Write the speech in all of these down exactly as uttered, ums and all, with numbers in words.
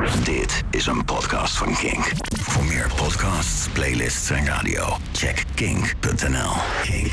Dit is een podcast van Kink. Voor meer podcasts, playlists en radio, check kink punt n l. Kink.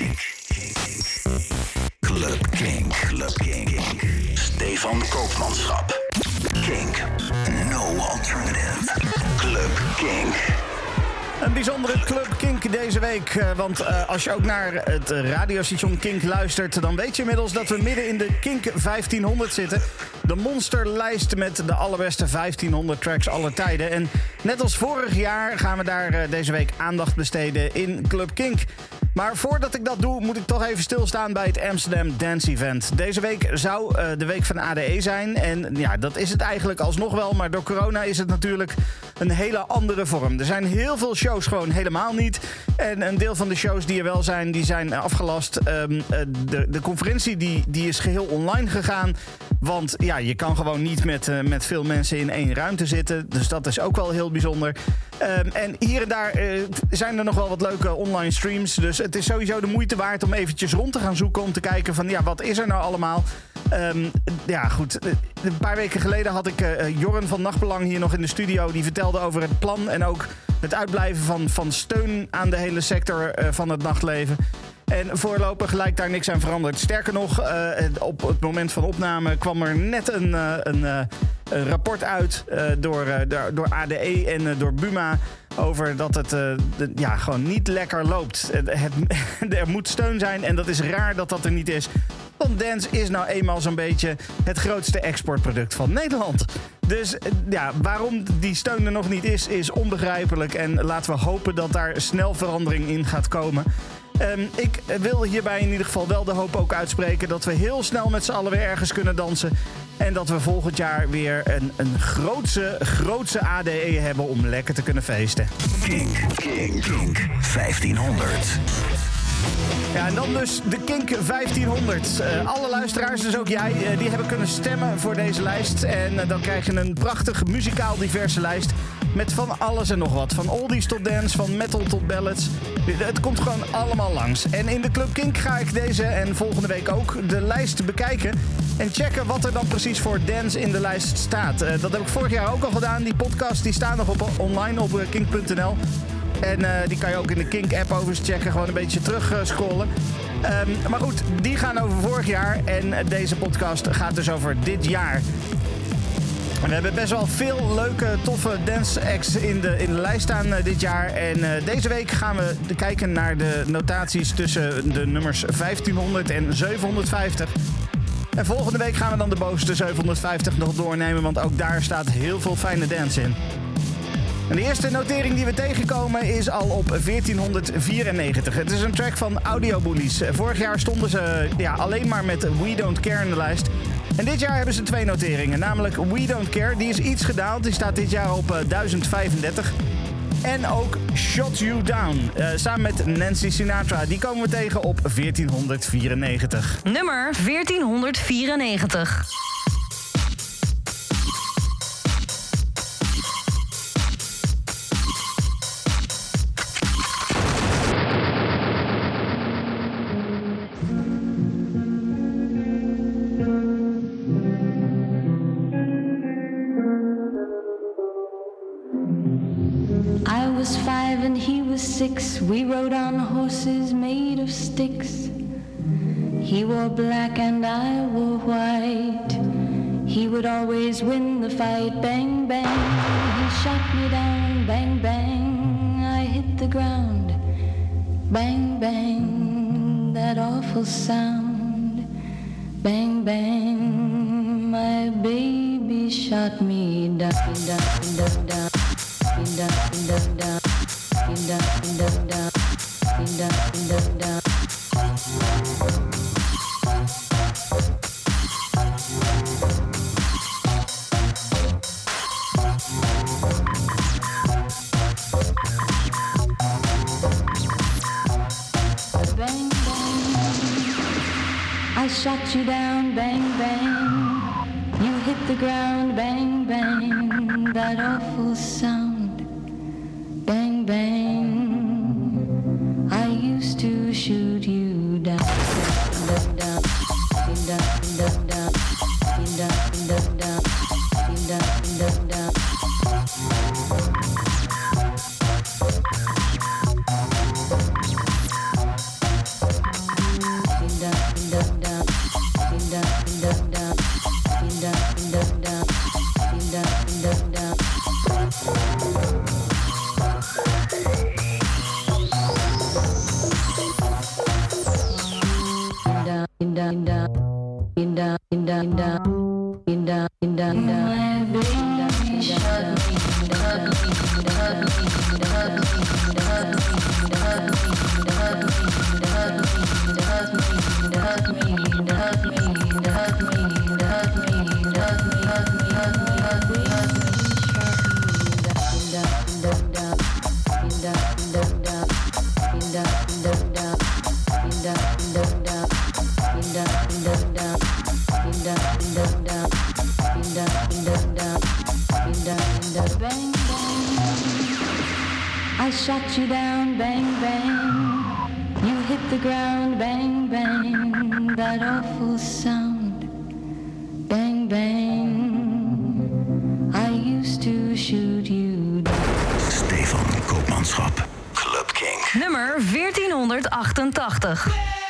Club Kink. Club Kink. Stefan Koopmanschap. Kink. No alternative. Club Kink. Een bijzondere Club Kink deze week. Want uh, als je ook naar het radiostation Kink luistert, dan weet je inmiddels dat we midden in de Kink vijftienhonderd zitten. De monsterlijst met de allerbeste vijftienhonderd tracks aller tijden. En net als vorig jaar gaan we daar uh, deze week aandacht besteden in Club Kink. Maar voordat ik dat doe, moet ik toch even stilstaan bij het Amsterdam Dance Event. Deze week zou uh, de week van A D E zijn. En ja, dat is het eigenlijk alsnog wel. Maar door corona is het natuurlijk een hele andere vorm. Er zijn heel veel shows gewoon helemaal niet. En een deel van de shows die er wel zijn, die zijn afgelast. Um, de, de conferentie die, die is geheel online gegaan. Want ja, je kan gewoon niet met, uh, met veel mensen in één ruimte zitten. Dus dat is ook wel heel bijzonder. Um, en hier en daar uh, zijn er nog wel wat leuke online streams. Dus het is sowieso de moeite waard om eventjes rond te gaan zoeken. Om te kijken van ja, wat is er nou allemaal? Um, ja, goed. Een paar weken geleden had ik uh, Jorren van Nachtbelang hier nog in de studio. Die vertelde over het plan en ook het uitblijven van, van steun aan de hele sector uh, van het nachtleven. En voorlopig lijkt daar niks aan veranderd. Sterker nog, uh, op het moment van opname kwam er net een, uh, een, uh, een rapport uit uh, door, uh, door A D E en uh, door Buma over dat het uh, de, ja, gewoon niet lekker loopt. Het, het, er moet steun zijn en dat is raar dat dat er niet is. Want dance is nou eenmaal zo'n beetje het grootste exportproduct van Nederland. Dus ja, waarom die steun er nog niet is, is onbegrijpelijk. En laten we hopen dat daar snel verandering in gaat komen. Um, ik wil hierbij in ieder geval wel de hoop ook uitspreken dat we heel snel met z'n allen weer ergens kunnen dansen. En dat we volgend jaar weer een, een grootse, grootse A D E hebben om lekker te kunnen feesten. Kink, Kink, Kink vijftienhonderd. Ja, en dan dus de Kink vijftienhonderd. Uh, alle luisteraars, dus ook jij, uh, die hebben kunnen stemmen voor deze lijst. En uh, dan krijg je een prachtig muzikaal diverse lijst met van alles en nog wat. Van oldies tot dance, van metal tot ballads. Het komt gewoon allemaal langs. En in de Club Kink ga ik deze en volgende week ook de lijst bekijken. En checken wat er dan precies voor dance in de lijst staat. Uh, dat heb ik vorig jaar ook al gedaan. Die podcast die staan nog op, online op uh, kink punt n l. En uh, die kan je ook in de Kink-app overigens checken. Gewoon een beetje terug uh, scrollen. Um, maar goed, die gaan over vorig jaar. En uh, deze podcast gaat dus over dit jaar. We hebben best wel veel leuke, toffe dance acts in de, in de lijst staan uh, dit jaar. En uh, deze week gaan we kijken naar de notaties tussen de nummers vijftienhonderd en zevenhonderdvijftig. En volgende week gaan we dan de bovenste zevenhonderdvijftig nog doornemen. Want ook daar staat heel veel fijne dance in. En de eerste notering die we tegenkomen is al op veertienhonderdvierennegentig. Het is een track van Audio Bullies. Vorig jaar stonden ze ja, alleen maar met We Don't Care in de lijst. En dit jaar hebben ze twee noteringen. Namelijk We Don't Care, die is iets gedaald. Die staat dit jaar op uh, duizend vijfendertig. En ook Shut You Down, uh, samen met Nancy Sinatra. Die komen we tegen op veertienhonderdvierennegentig. Nummer veertienhonderdvierennegentig. And he was six. We rode on horses made of sticks. He wore black and I wore white. He would always win the fight. Bang, bang, he shot me down. Bang, bang, I hit the ground. Bang, bang, that awful sound. Bang, bang, my baby shot me down, down, down, down. Down, down, down, down, down, down, down, down, down. Bang, bang, I shot you down, bang, bang. You hit the ground, bang, bang, that awful sound. Bang, bang, I used to shoot you down, down, down, down, down, down, down, down, down, down, down, down, down. a bang, bang. I shot you down, bang, bang. You hit the ground, bang, bang. That awful sound, bang, bang. I used to shoot you down. Stefan Koopmanschap. Club King. Nummer veertienhonderdachtentachtig.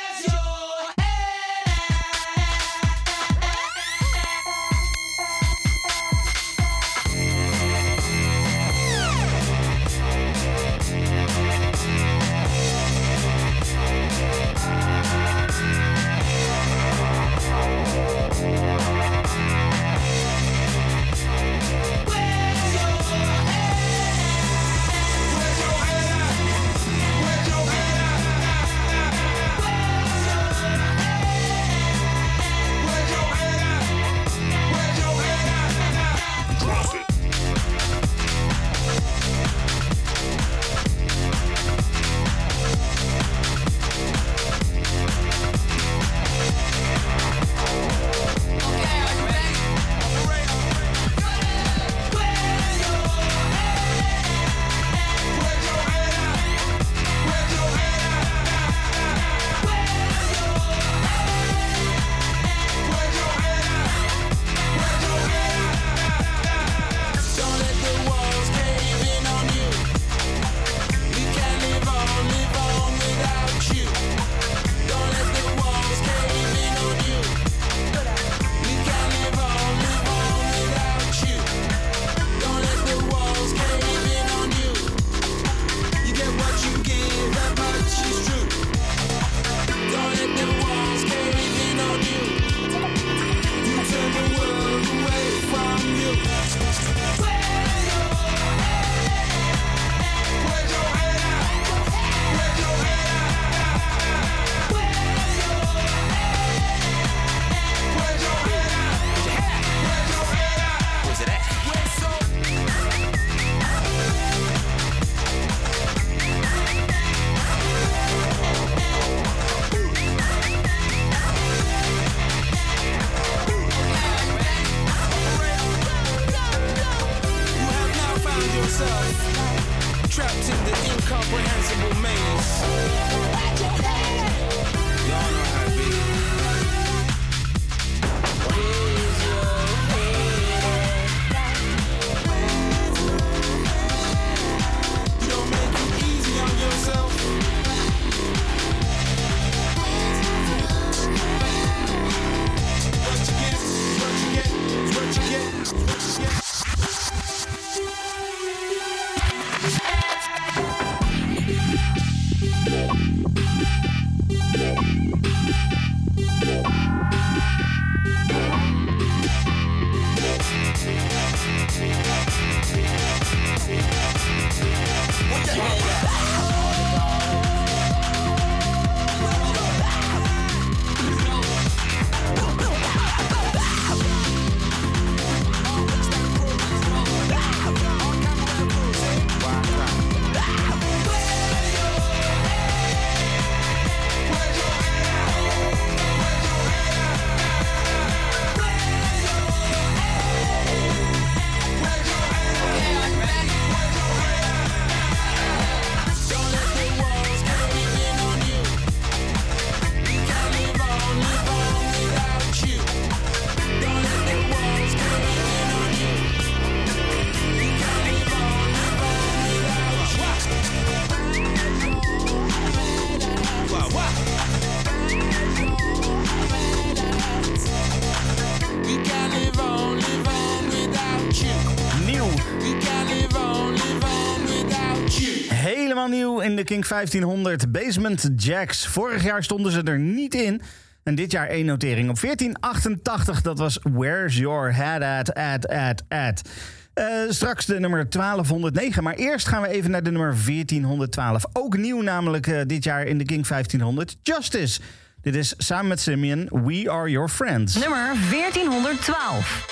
Nieuw in de Kink vijftienhonderd Basement Jacks. Vorig jaar stonden ze er niet in. En dit jaar één notering op veertien achtentachtig. Dat was Where's Your Head At, At, At, At. Uh, straks de nummer twaalfhonderdnegen. Maar eerst gaan we even naar de nummer veertienhonderdtwaalf. Ook nieuw namelijk uh, dit jaar in de Kink vijftienhonderd. Justice. Dit is samen met Simeon, We Are Your Friends. Nummer veertienhonderdtwaalf.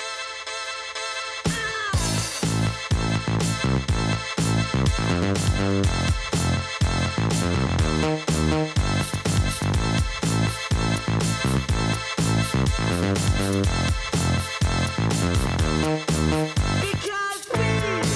Because we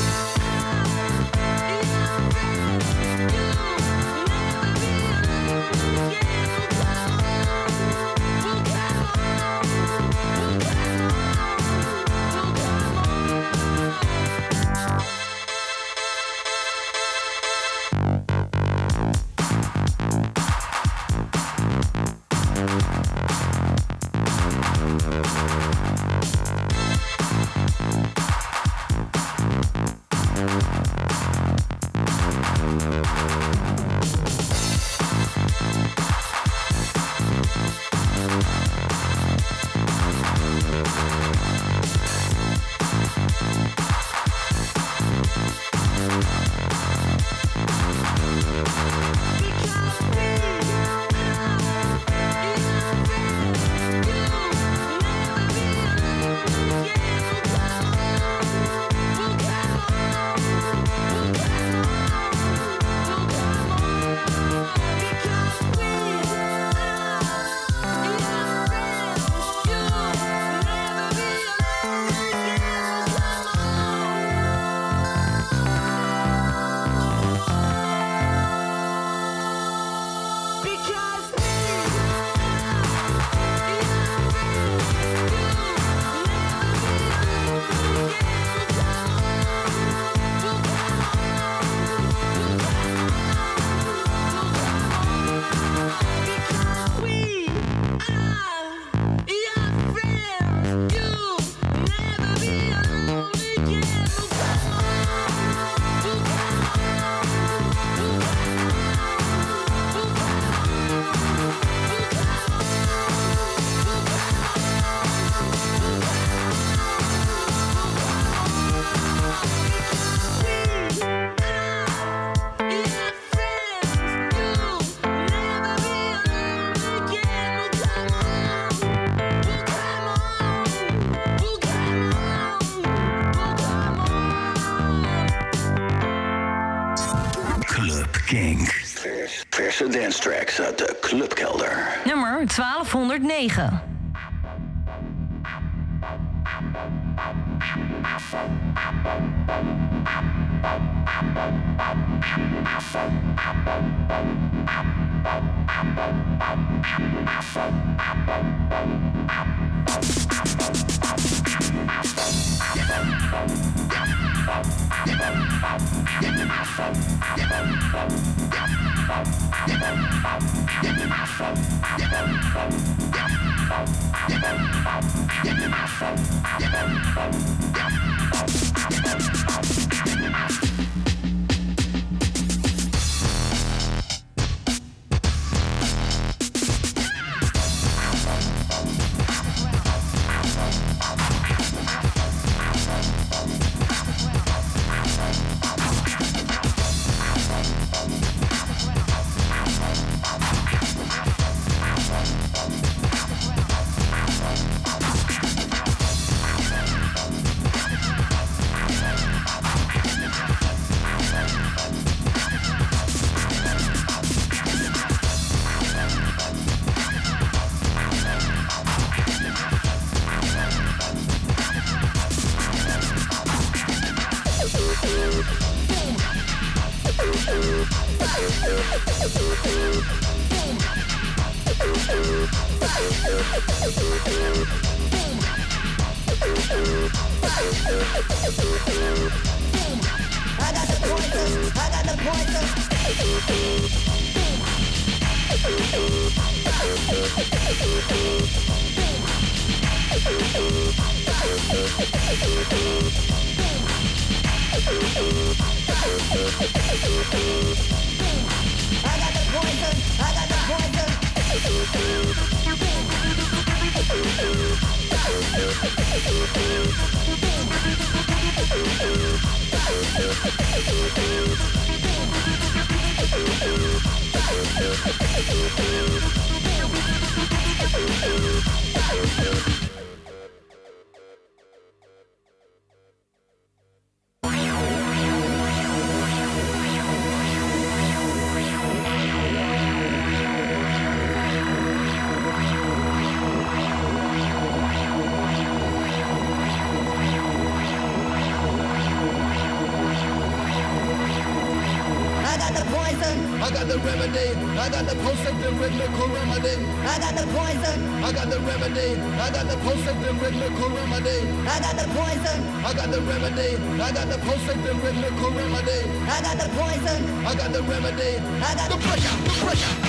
Kink. Verse dance tracks uit de clubkelder. Nummer twaalfhonderdnegen. I got the remedy. I got the post-it rhythmical remedy. I got the poison. I got the remedy. I got the post-it rhythmical remedy. I got the poison. I got the remedy. I got the post-it rhythmical remedy. I got the poison. I got the remedy. I got the pressure. The pressure.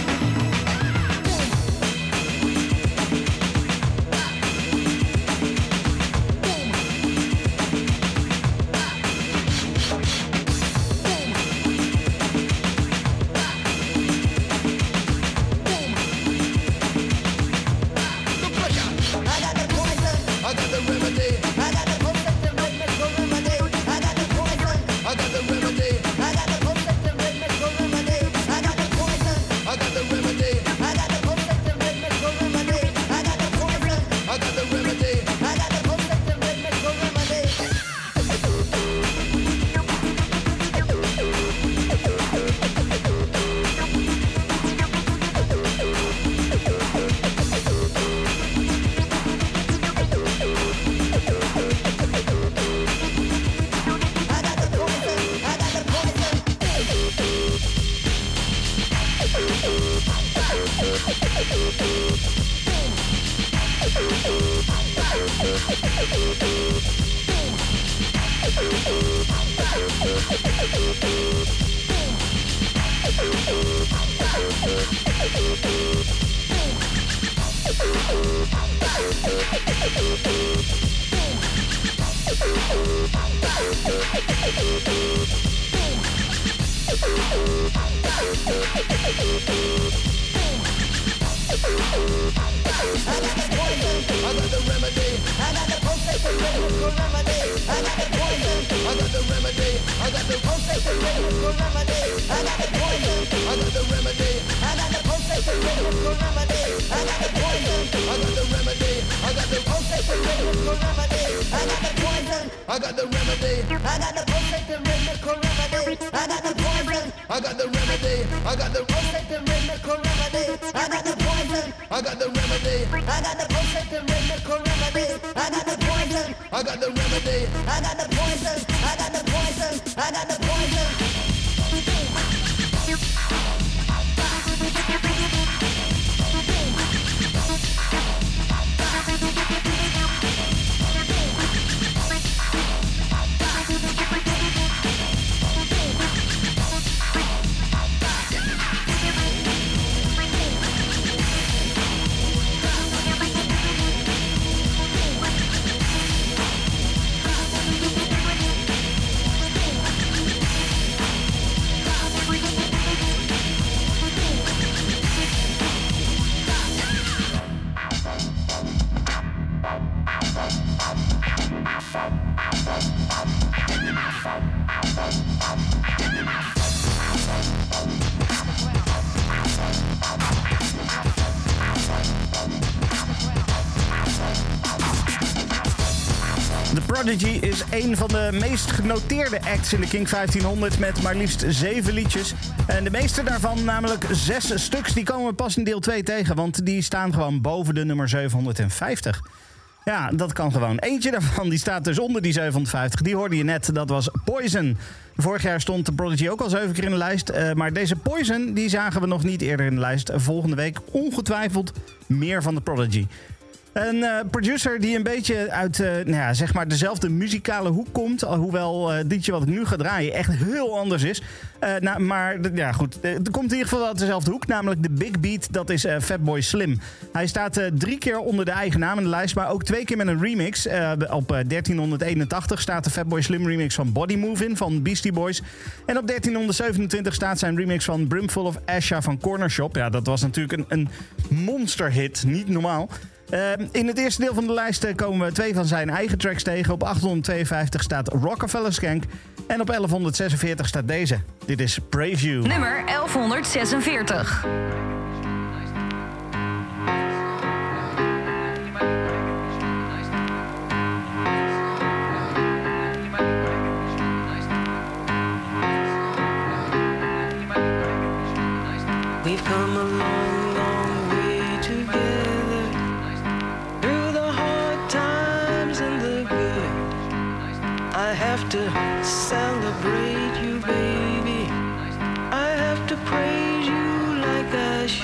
I got the remedy. I got the post-it pulsating rhythmical remedy. I got the poison, I got the remedy. I got the pulsating rhythmical remedy. I got the poison, I got the remedy. I got the pulsating rhythmical remedy. I got the poison, I got the remedy. I got the poison, I got the poison, I got the poison. Prodigy is een van de meest genoteerde acts in de Kink vijftienhonderd met maar liefst zeven liedjes. En de meeste daarvan, namelijk zes stuks, die komen we pas in deel twee tegen, want die staan gewoon boven de nummer zevenhonderdvijftig. Ja, dat kan gewoon. Eentje daarvan die staat dus onder die zevenhonderdvijftig. Die hoorde je net, dat was Poison. Vorig jaar stond de Prodigy ook al zeven keer in de lijst. Uh, maar deze Poison die zagen we nog niet eerder in de lijst. Volgende week ongetwijfeld meer van de Prodigy. Een uh, producer die een beetje uit uh, nou ja, zeg maar dezelfde muzikale hoek komt. Hoewel uh, het liedje wat ik nu ga draaien echt heel anders is. Uh, nou, maar ja, goed, er komt in ieder geval uit dezelfde hoek. Namelijk de Big Beat, dat is uh, Fatboy Slim. Hij staat uh, drie keer onder de eigen naam in de lijst. Maar ook twee keer met een remix. Uh, op uh, dertienhonderdeenentachtig staat de Fatboy Slim remix van Body Move in van Beastie Boys. En op dertienhonderdzevenentwintig staat zijn remix van Brimful of Asha van Corner Shop. Ja, dat was natuurlijk een, een monsterhit. Niet normaal. Uh, in het eerste deel van de lijst uh, komen we twee van zijn eigen tracks tegen. Op achthonderdtweeënvijftig staat Rockefeller Skank. En op elfhonderdzesenveertig staat deze. Dit is Brave You. Nummer elfhonderdzesenveertig. We've come a long, long way together, through the hard times and the good. I have to celebrate you, baby. I have to praise you like I should.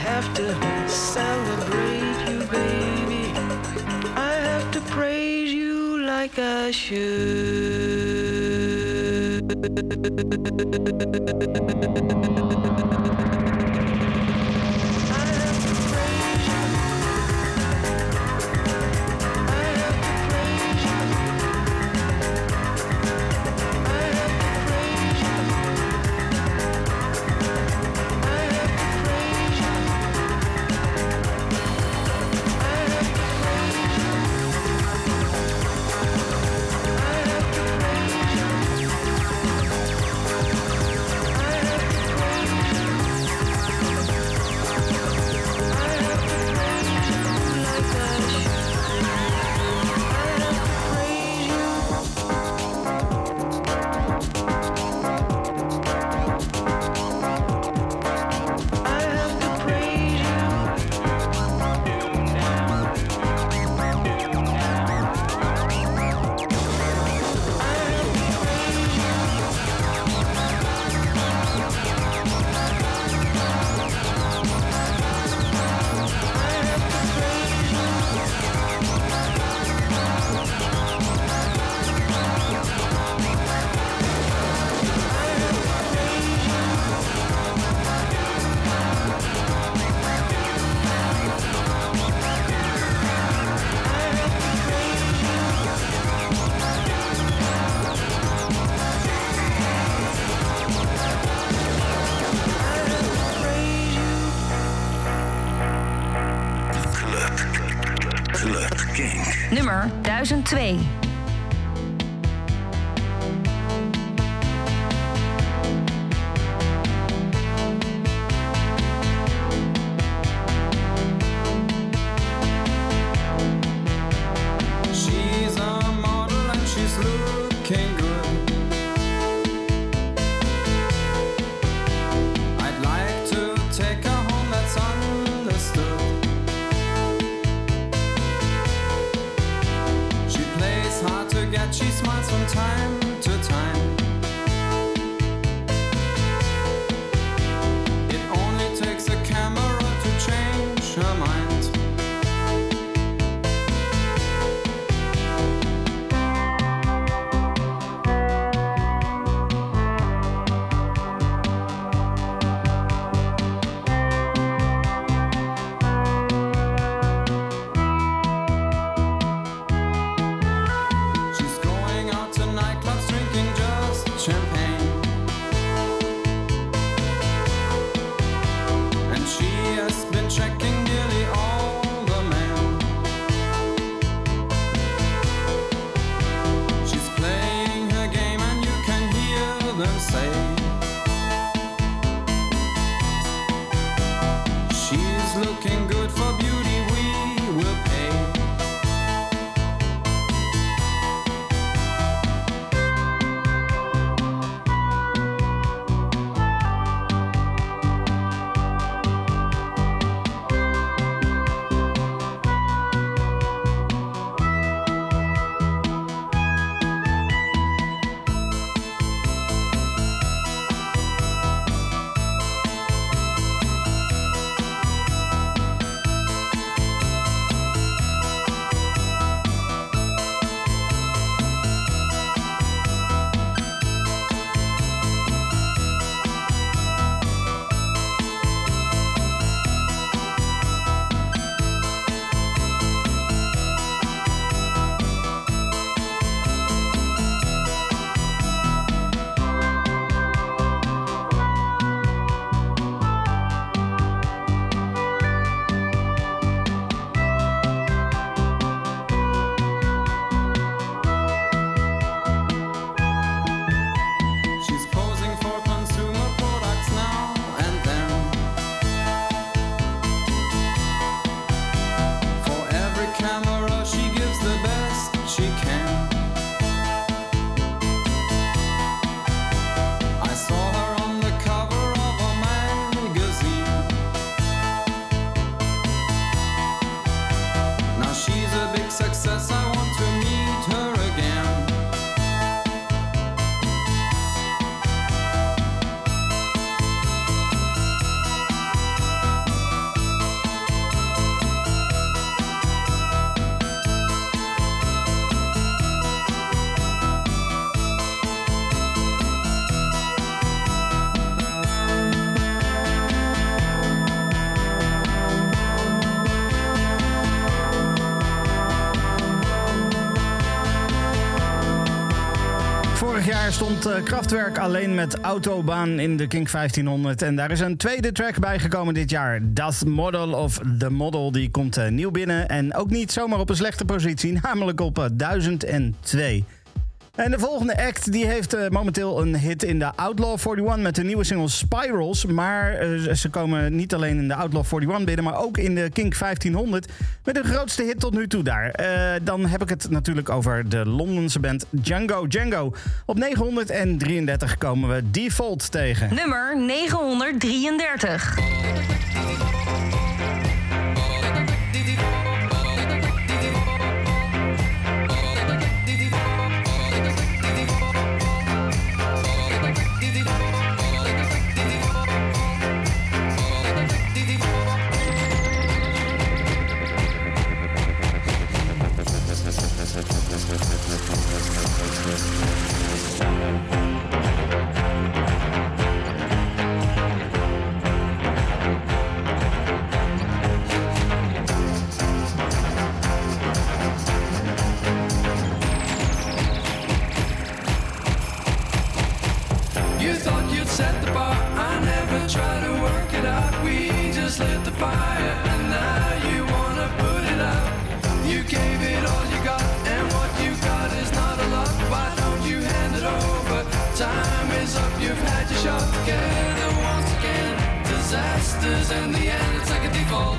have to celebrate you, baby. I have to praise you like I should. Nummer duizend twee. She's a model and she's looking good. I'd like to take her home, that's understood. She plays hard to get, she smiles from time to time. It only takes a camera to change her mind. She's going out to nightclubs, drinking just champagne. And she has been checking nearly all the men. She's playing her game and you can hear them say, she's looking good for beauty, we will pay. Vorig jaar stond uh, Kraftwerk alleen met Autobahn in de Kink vijftienhonderd. En daar is een tweede track bijgekomen dit jaar. Das Model of The Model, die komt uh, nieuw binnen. En ook niet zomaar op een slechte positie, namelijk op uh, duizend twee. En de volgende act die heeft uh, momenteel een hit in de Outlaw eenenveertig met de nieuwe single Spirals. Maar uh, ze komen niet alleen in de Outlaw eenenveertig binnen, maar ook in de Kink vijftienhonderd. Met de grootste hit tot nu toe daar. Uh, dan heb ik het natuurlijk over de Londense band Django Django. Op negenhonderddrieëndertig komen we Default tegen. Nummer negenhonderddrieëndertig. Set the bar, I never try to work it out. We just lit the fire, and now you wanna put it out. You gave it all you got, and what you got is not a lot. Why don't you hand it over? Time is up, you've had your shot. Together once again, disasters in the end, it's like a default.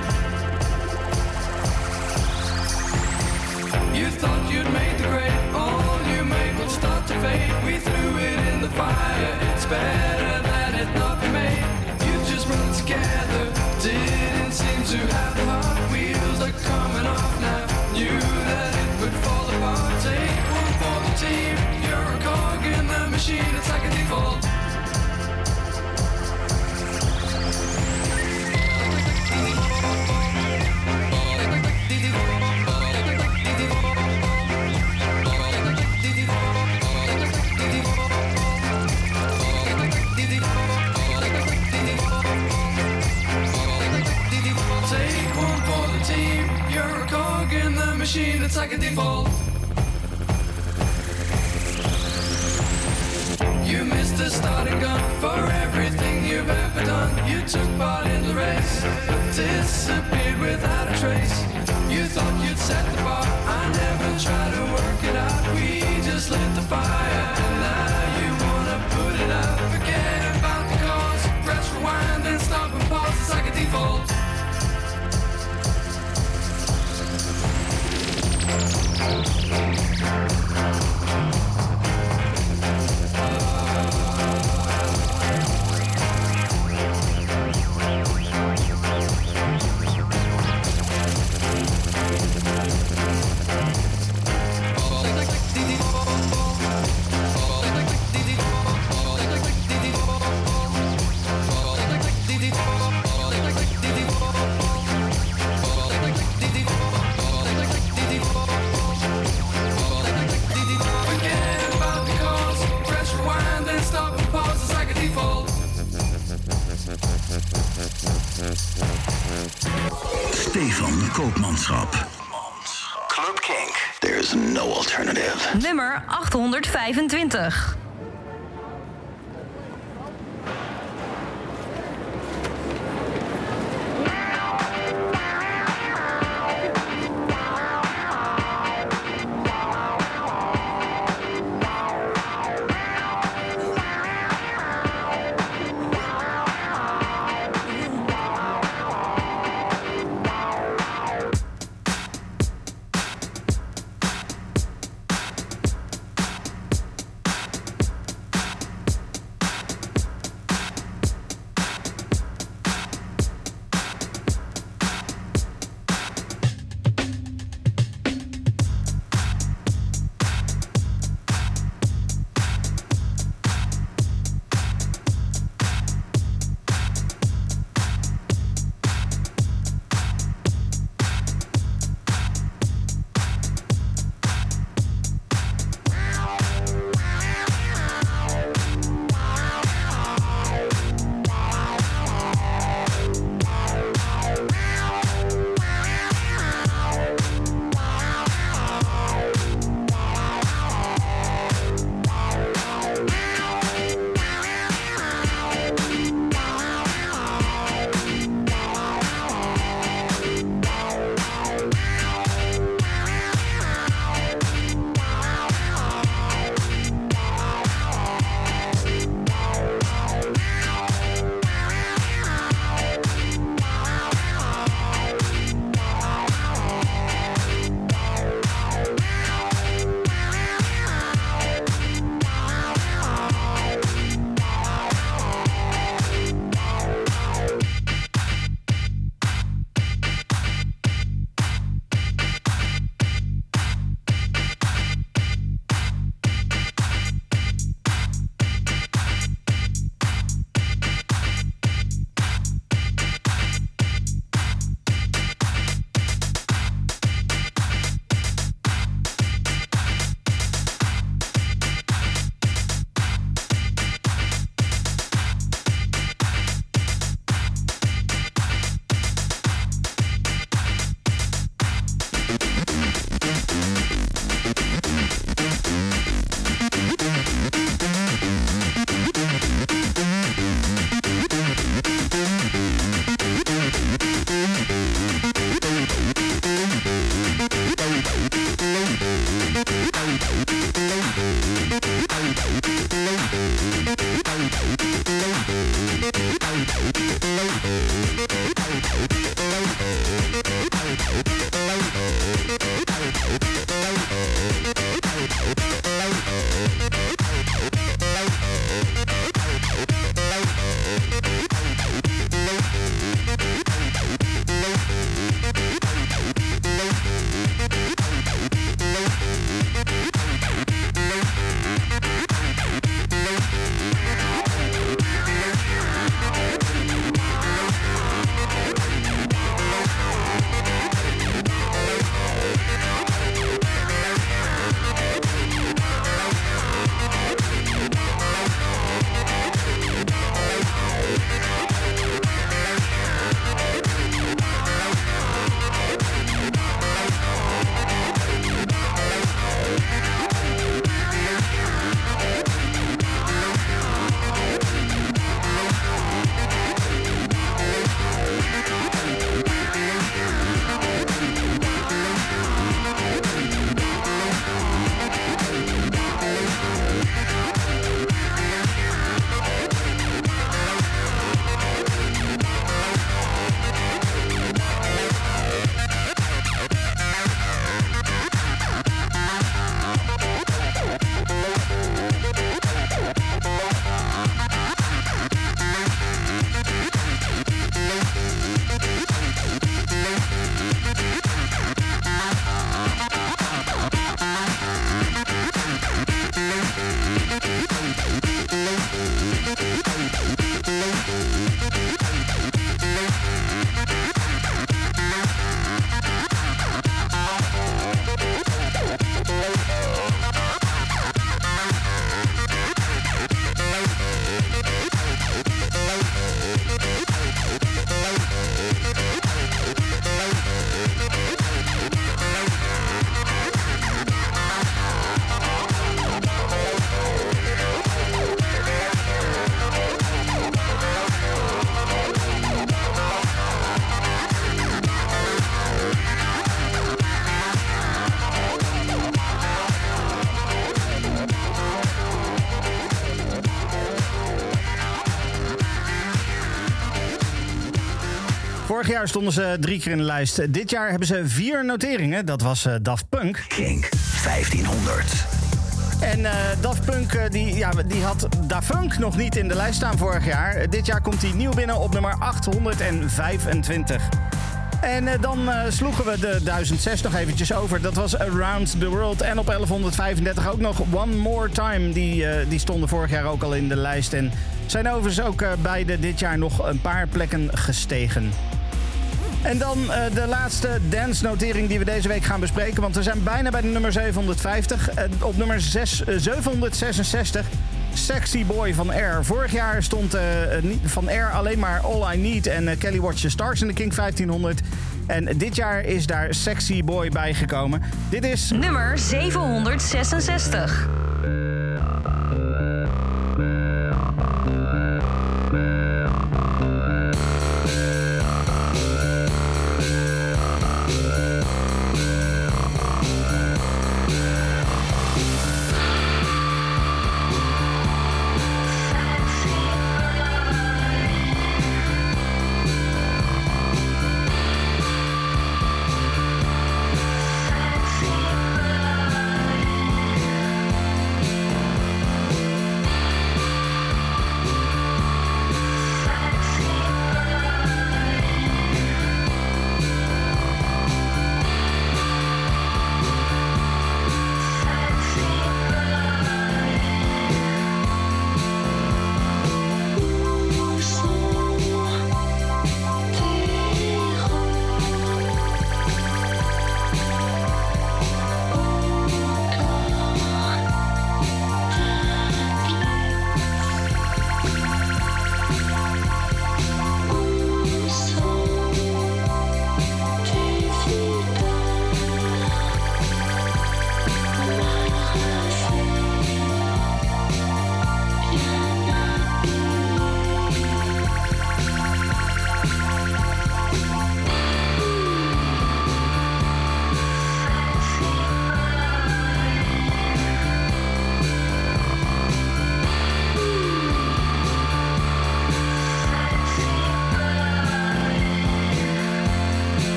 You thought you'd made the grade, all you made would start to fade. We threw it in the fire, it's better that it not be made. You just run together, didn't seem to have the heart. Wheels are coming off now, knew that it would fall apart. Take one for the team, you're a cog in the machine, it's like a default. Machine, it's like a default. You missed the starting gun for everything you've ever done. You took part in the race, but disappeared without a trace. You thought you'd set the bar, I never tried to work it out. We just lit the fire, and now you wanna put it out. Forget about the cause, press rewind and stop and pause, it's like a default. Stefan Koopmanschap. Club Kink. There's no alternative. Nummer achthonderdvijfentwintig. Vorig jaar stonden ze drie keer in de lijst. Dit jaar hebben ze vier noteringen. Dat was uh, Daft Punk. Kink vijftienhonderd. En uh, Daft Punk uh, die, ja, die had Da Funk nog niet in de lijst staan vorig jaar. Uh, dit jaar komt hij nieuw binnen op nummer achthonderdvijfentwintig. En uh, dan uh, sloegen we de duizend zes nog eventjes over. Dat was Around the World. En op elfhonderdvijfendertig ook nog One More Time. Die, uh, die stonden vorig jaar ook al in de lijst. En zijn overigens ook uh, beide dit jaar nog een paar plekken gestegen. En dan uh, de laatste dance-notering die we deze week gaan bespreken. Want we zijn bijna bij de nummer zevenhonderdvijftig. Uh, op nummer zes, uh, zevenhonderdzesenzestig, Sexy Boy van Air. Vorig jaar stond uh, van Air alleen maar All I Need en uh, Kelly Watch the Stars in de Kink vijftienhonderd. En dit jaar is daar Sexy Boy bijgekomen. Dit is nummer zevenhonderdzesenzestig.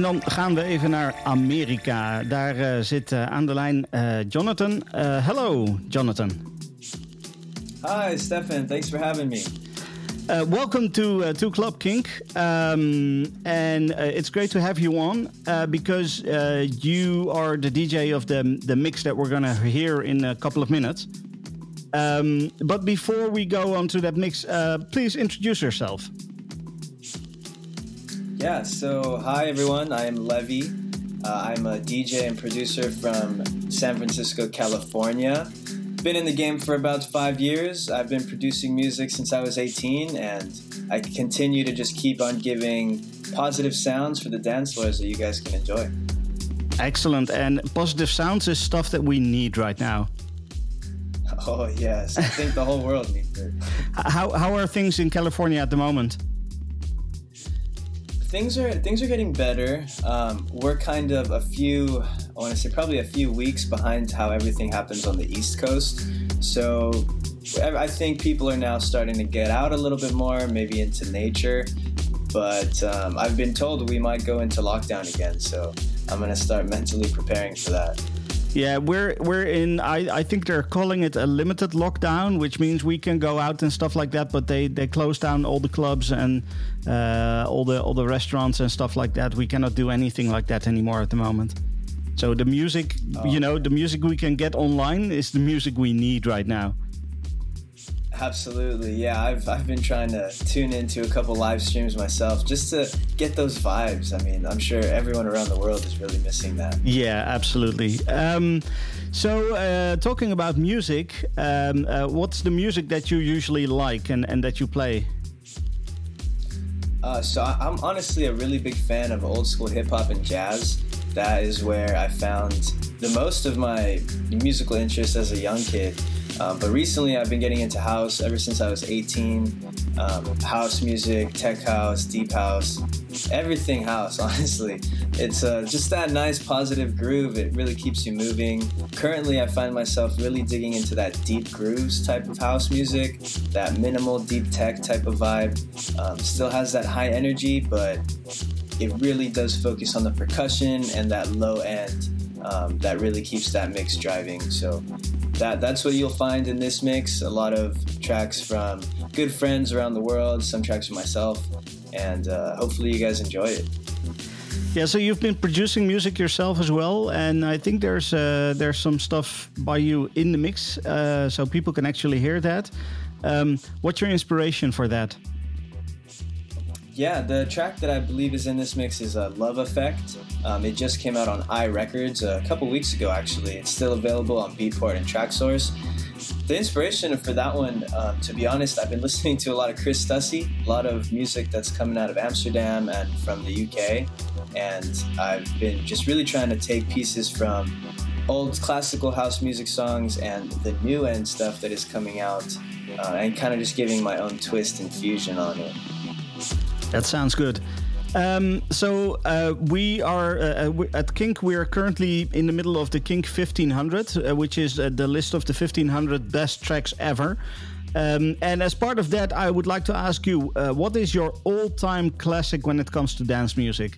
En dan gaan we even naar Amerika. Daar uh, zit uh, aan de lijn uh, Jonathan. Uh, hello, Jonathan. Hi, Stefan. Thanks for having me. Uh, welcome to uh, to Club Kink, um, and uh, it's great to have you on uh, because uh, you are the D J of the the mix that we're gonna hear in a couple of minutes. Um, but before we go on to that mix, uh, please introduce yourself. Yeah, so hi everyone, I am Levy. Uh, I'm a D J and producer from San Francisco, California. Been in the game for about five years. I've been producing music since I was eighteen, and I continue to just keep on giving positive sounds for the dance floors that you guys can enjoy. Excellent, and positive sounds is stuff that we need right now. Oh yes, I think the whole world needs it. How how are things in California at the moment? Things are things are getting better. Um, we're kind of a few, I want to say probably a few weeks behind how everything happens on the East Coast. So I think people are now starting to get out a little bit more, maybe into nature. But um, I've been told we might go into lockdown again. So I'm going to start mentally preparing for that. Yeah, we're we're in. I, I think they're calling it a limited lockdown, which means we can go out and stuff like that. But they, they close down all the clubs and uh, all the all the restaurants and stuff like that. We cannot do anything like that anymore at the moment. So the music, oh. you know, the music we can get online is the music we need right now. Absolutely, yeah. I've I've been trying to tune into a couple live streams myself just to get those vibes. I mean, I'm sure everyone around the world is really missing that. Yeah, absolutely. Um, so, uh, talking about music, um, uh, what's the music that you usually like and, and that you play? Uh, so I'm honestly a really big fan of old school hip hop and jazz. That is where I found the most of my musical interest as a young kid. Um, but recently I've been getting into house ever since I was eighteen. Um, house music, tech house, deep house, everything house, honestly. It's uh, just that nice positive groove. It really keeps you moving. Currently I find myself really digging into that deep grooves type of house music, that minimal deep tech type of vibe. Um, still has that high energy, but it really does focus on the percussion and that low end um, that really keeps that mix driving. So That, that's what you'll find in this mix. A lot of tracks from good friends around the world, some tracks from myself, and uh, hopefully you guys enjoy it. Yeah, so you've been producing music yourself as well, and I think there's uh, there's some stuff by you in the mix, uh, so people can actually hear that. Um, what's your inspiration for that? Yeah, the track that I believe is in this mix is uh, Love Effect. Um, it just came out on iRecords a couple weeks ago, actually. It's still available on Beatport and Traxsource. The inspiration for that one, um, to be honest, I've been listening to a lot of Chris Stussy, a lot of music that's coming out of Amsterdam and from the U K. And I've been just really trying to take pieces from old classical house music songs and the new end stuff that is coming out uh, and kind of just giving my own twist and fusion on it. That sounds good. Um, so uh, we are uh, at Kink. We are currently in the middle of the Kink fifteen hundred, uh, which is uh, the list of the fifteen hundred best tracks ever. Um, and as part of that, I would like to ask you, uh, what is your all-time classic when it comes to dance music?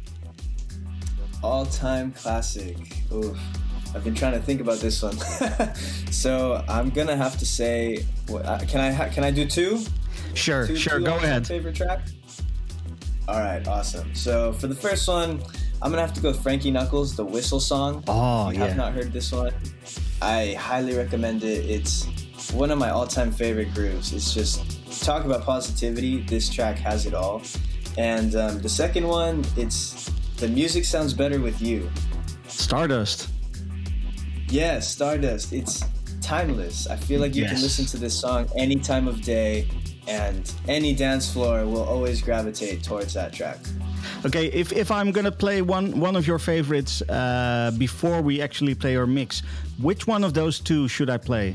All-time classic. Ooh, I've been trying to think about this one. So I'm gonna have to say, can I can I do two? Sure, two, sure. Two go ahead. Favorite track. All right, awesome. So for the first one, I'm gonna have to go with Frankie Knuckles, the Whistle Song. Oh, if you yeah. have not heard this one, I highly recommend it. It's one of my all-time favorite grooves. It's just, talk about positivity. This track has it all. And um, the second one, it's The Music Sounds Better With You. Stardust. Yeah, Stardust. It's timeless. I feel like you Yes. can listen to this song any time of day, and any dance floor will always gravitate towards that track. Okay, if, if I'm gonna play one one of your favorites uh, before we actually play our mix, which one of those two should I play?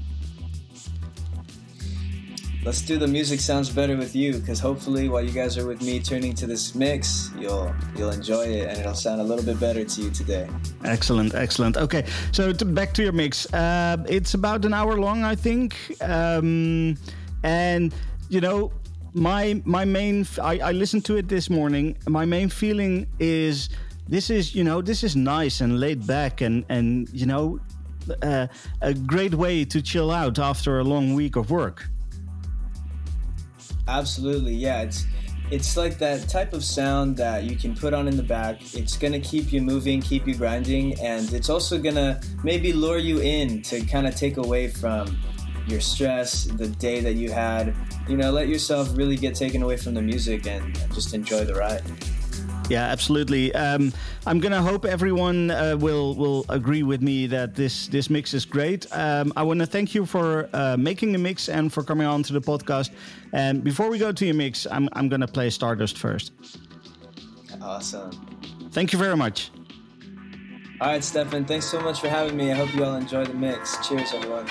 Let's do The Music Sounds Better With You, because hopefully while you guys are with me tuning to this mix, you'll you'll enjoy it and it'll sound a little bit better to you today. Excellent, excellent. Okay, so to, back to your mix. Uh, it's about an hour long, I think. Um, and, you know, my my main I, I listened to it this morning. My main feeling is this is you know this is nice and laid back and and you know uh, a great way to chill out after a long week of work. Absolutely, yeah. It's it's like that type of sound that you can put on in the back. It's gonna keep you moving, keep you grinding, and it's also gonna maybe lure you in to kind of take away from your stress, the day that you had. You know, let yourself really get taken away from the music and just enjoy the ride. Yeah, absolutely. Um, I'm gonna hope everyone uh, will will agree with me that this this mix is great. Um, I want to thank you for uh, making the mix and for coming on to the podcast. And before we go to your mix, I'm I'm gonna play Stardust first. Awesome. Thank you very much. All right, Stefan. Thanks so much for having me. I hope you all enjoy the mix. Cheers, everyone.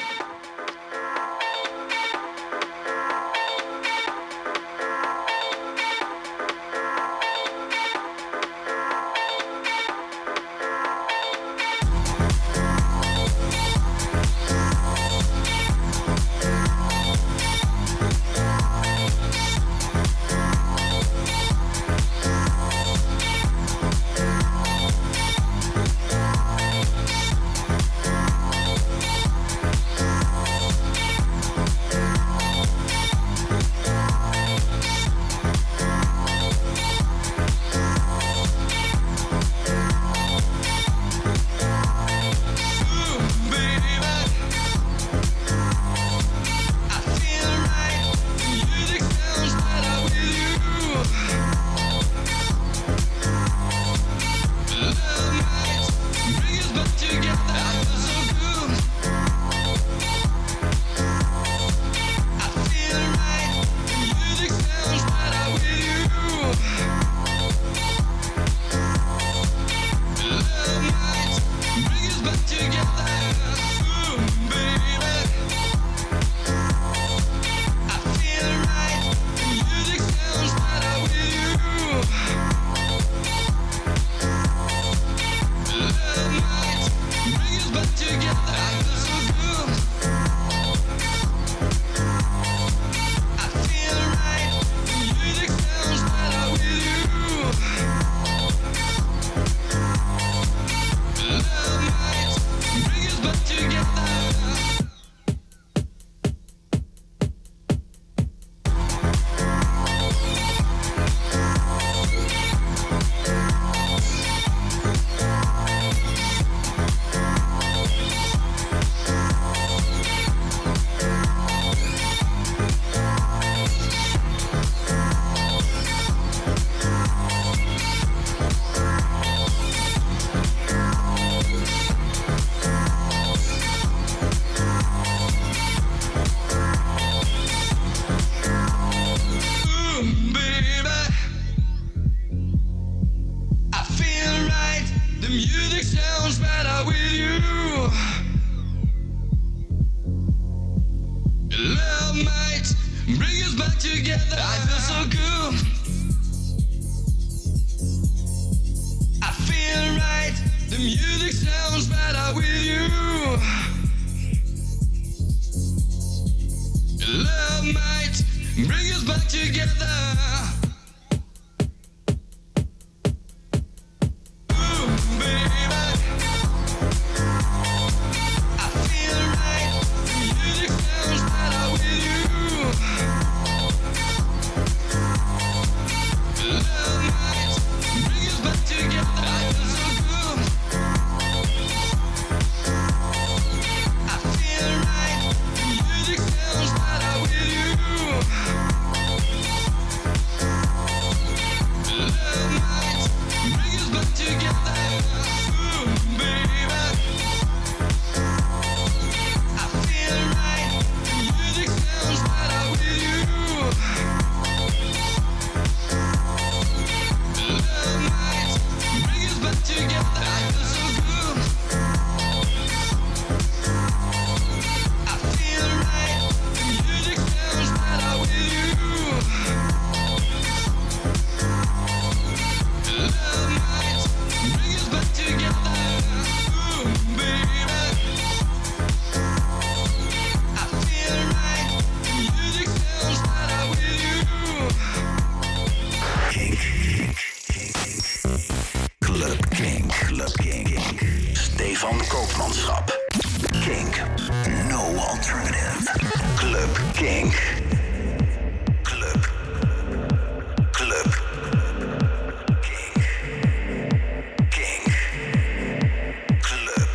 landschap. Kink. No alternative. Club Kink. Club. Club. Kink. Kink. Club.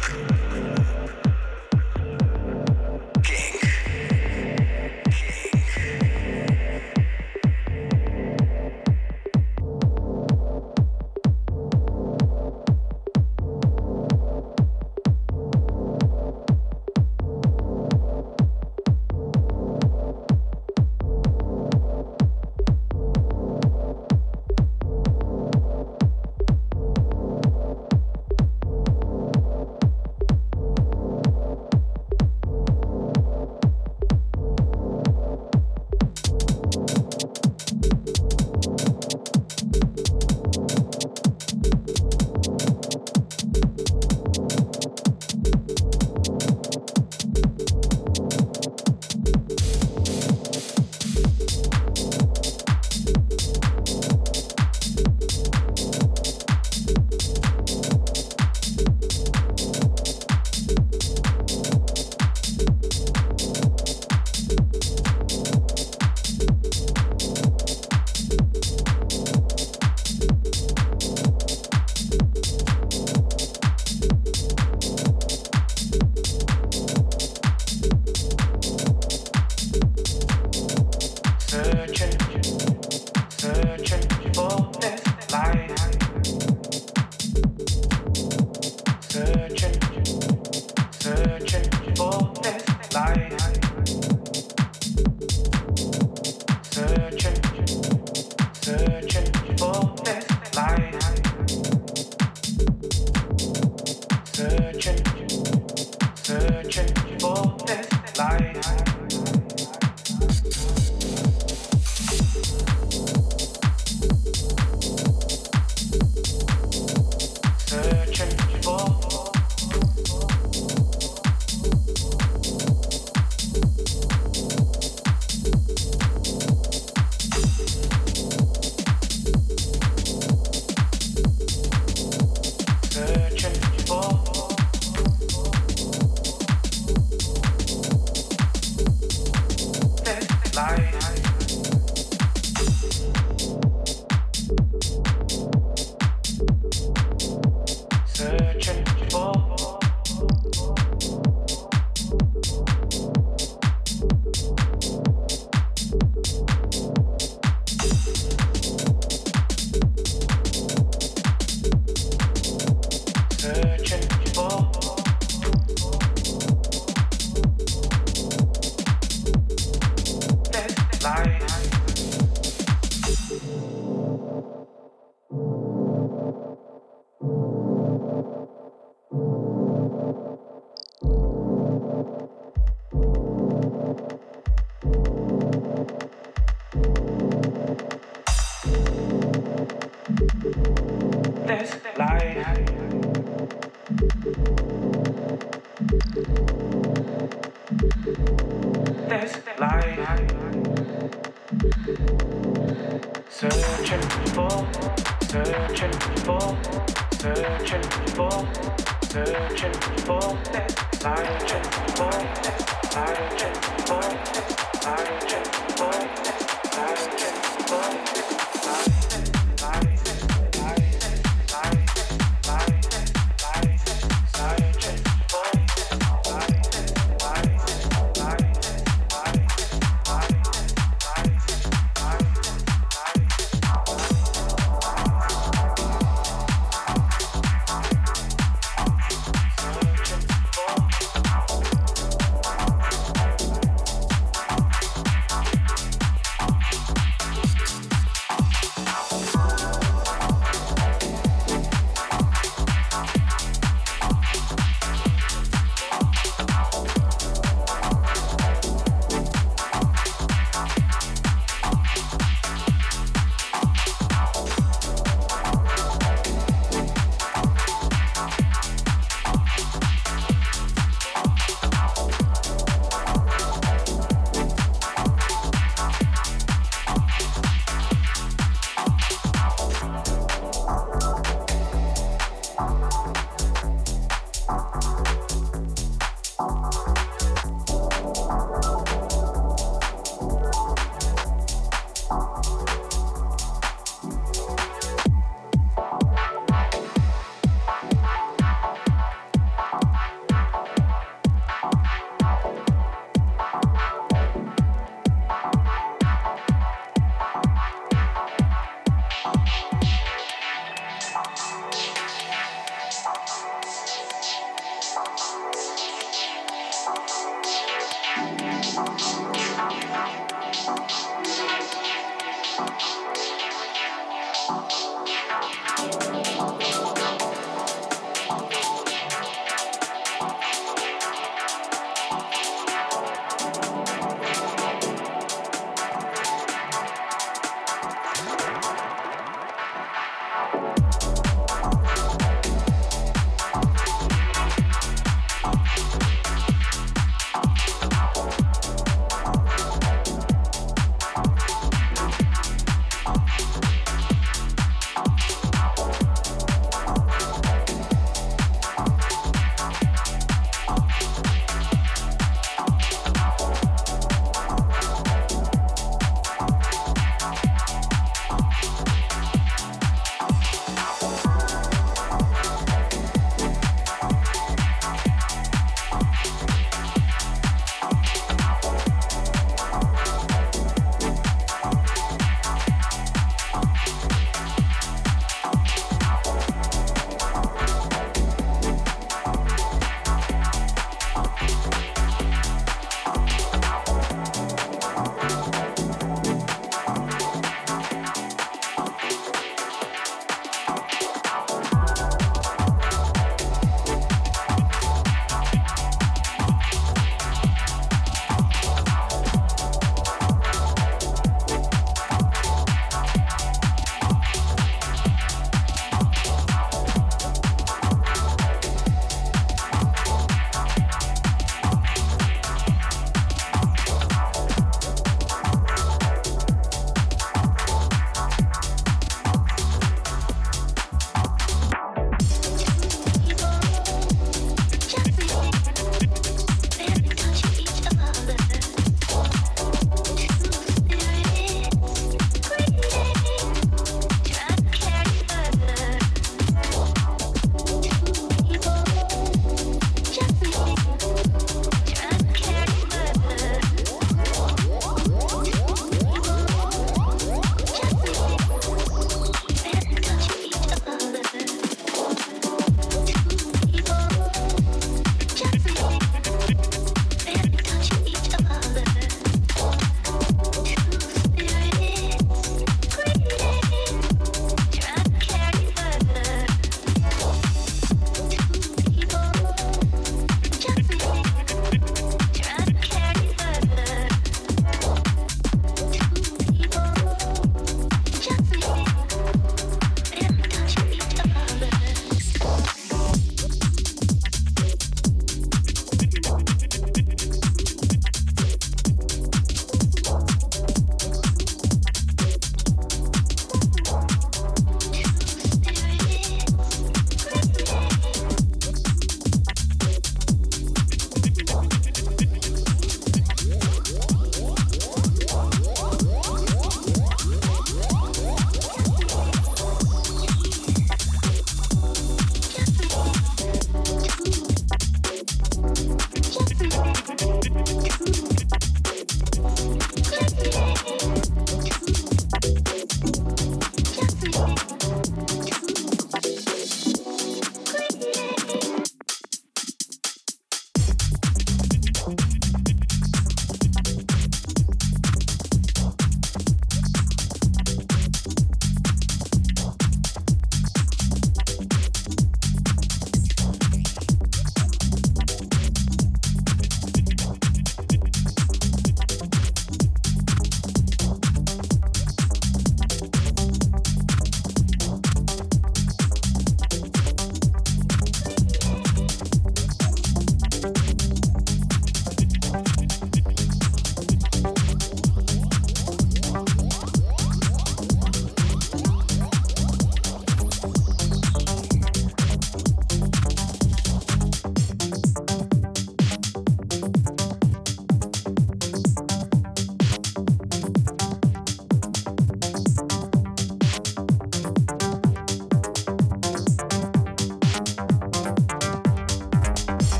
Kink.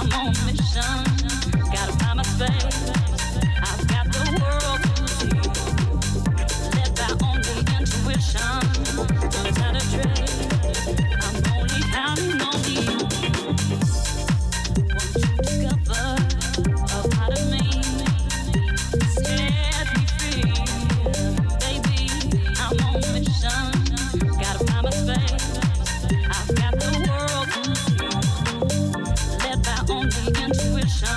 I'm on a mission. Gotta find my space. I've got the world to see. Led by only intuition. Without a trace, I'm only counting on you. Want you to discover a part of me. Set me free. Baby, I'm on a mission. Gotta find my space. I've got the world to see. Led by only intuition.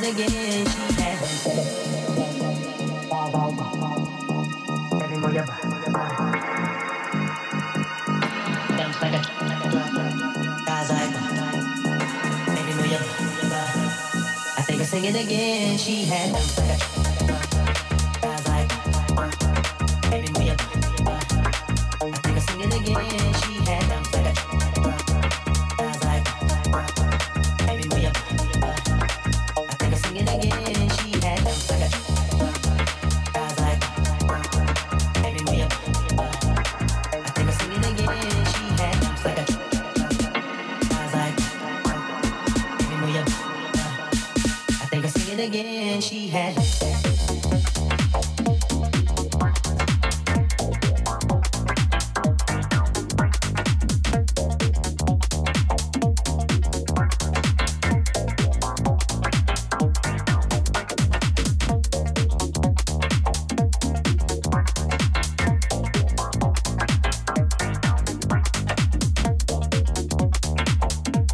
again. She had baby, move your body, move your body. Bounce like a, guys like, baby, move your body. I think I'll sing it again. She had bounce like a, guys like, baby, move your body. I think I'll sing it again. She had bounce like a, guys like, baby, move your body. I think I'll sing it again. She had bounce like a, guys like, baby, move your body. I think I'll sing it again. She had bounce like a, guys like, baby, move your body. I think I'll sing it again. She had.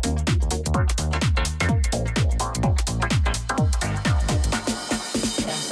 Like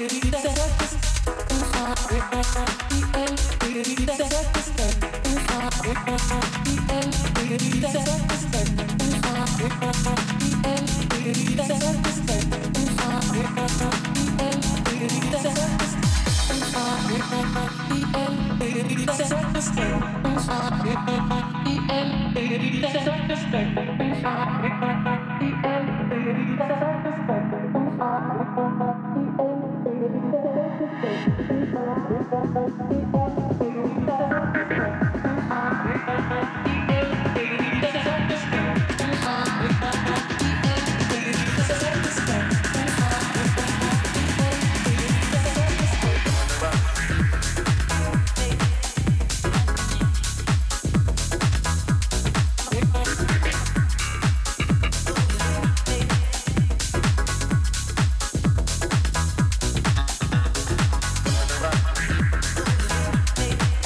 Thank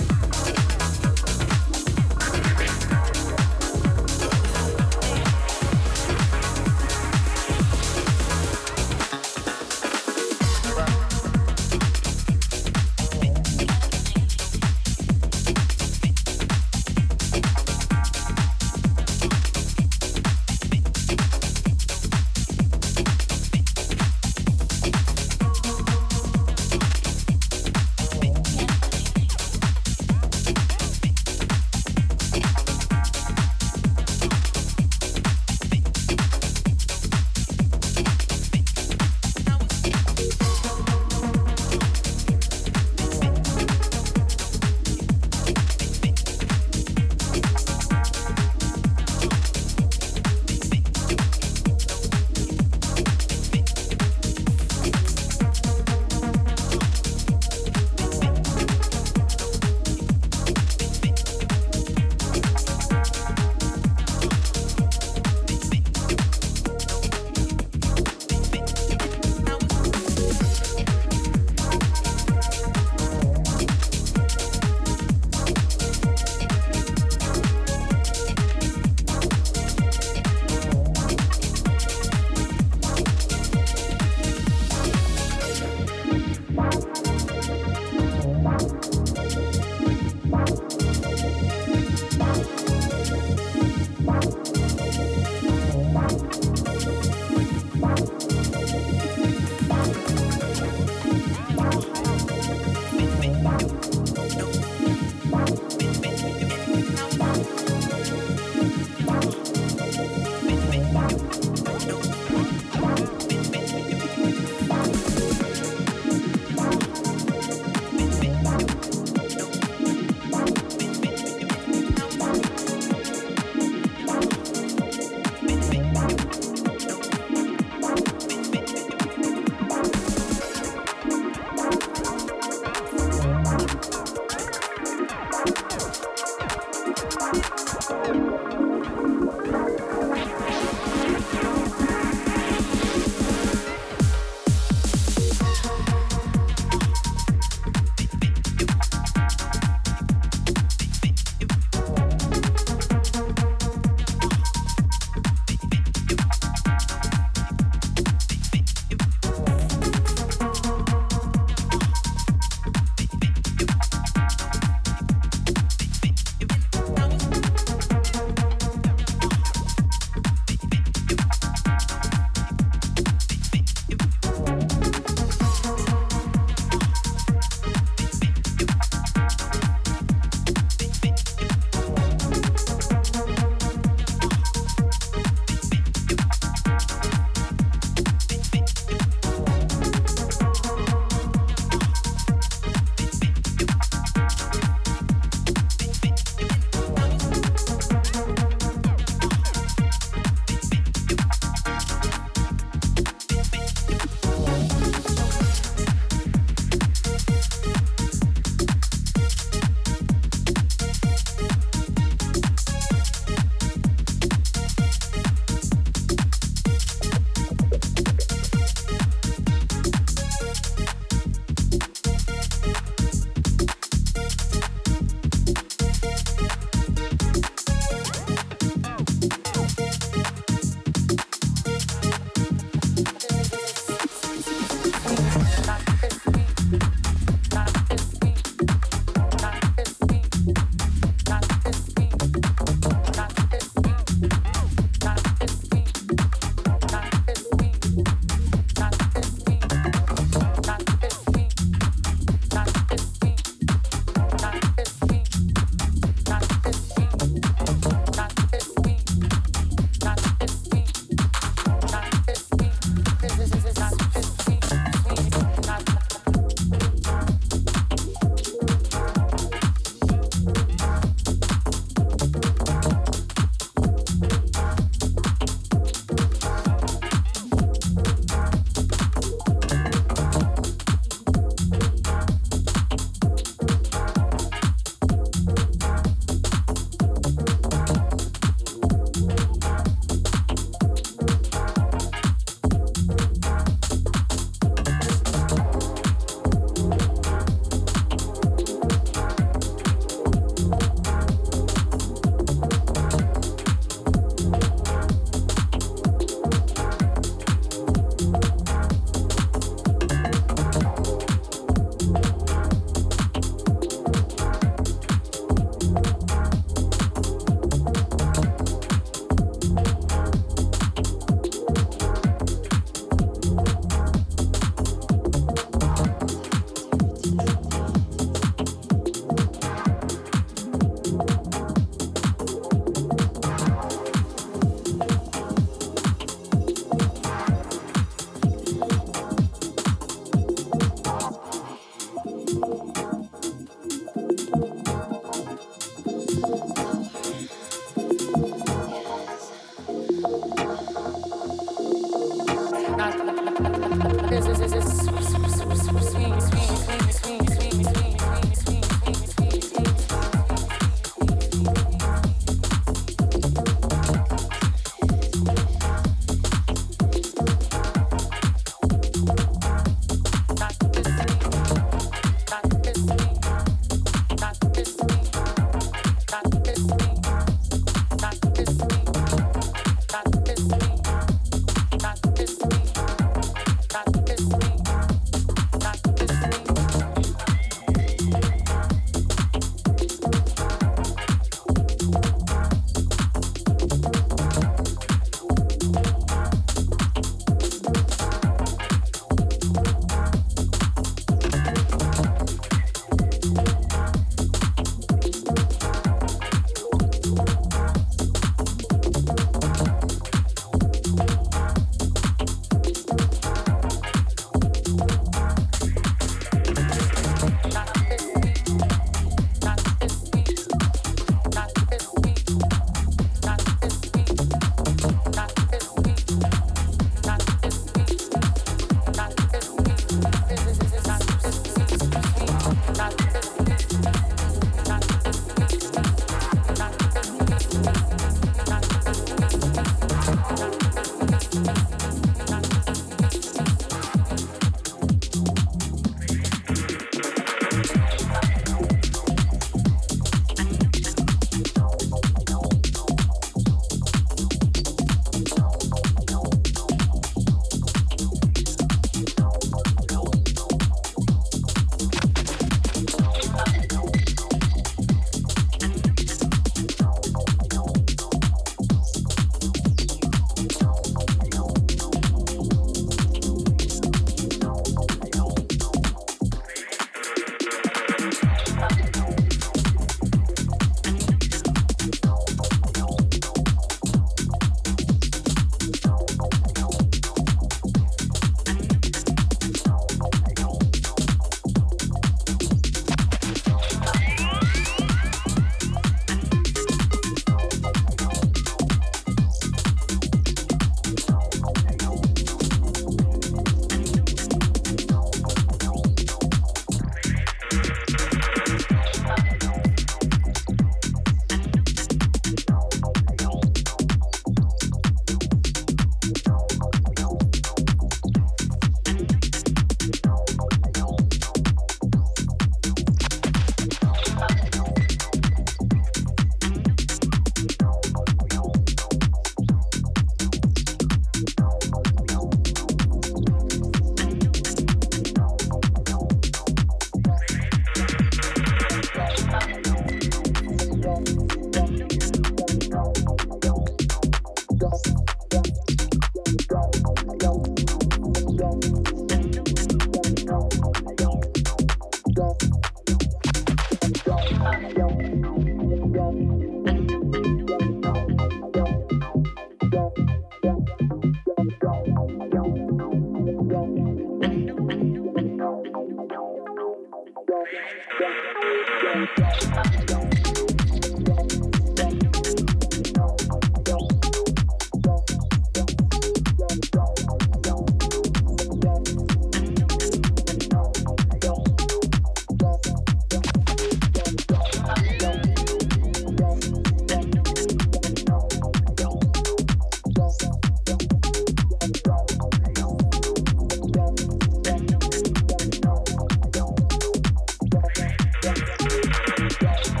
Yeah.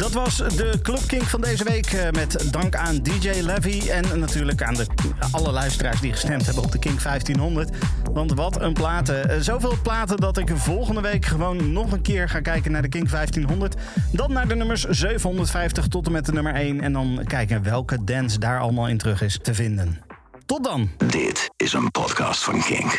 Dat was de Club Kink van deze week. Uh, met dank aan D J Levy en natuurlijk aan de, alle luisteraars die gestemd hebben op de Kink vijftienhonderd. Want wat een platen. Uh, zoveel platen dat ik volgende week gewoon nog een keer ga kijken naar de Kink vijftienhonderd. Dan naar de nummers zevenhonderdvijftig tot en met de nummer één. En dan kijken welke dance daar allemaal in terug is te vinden. Tot dan. Dit is een podcast van Kink.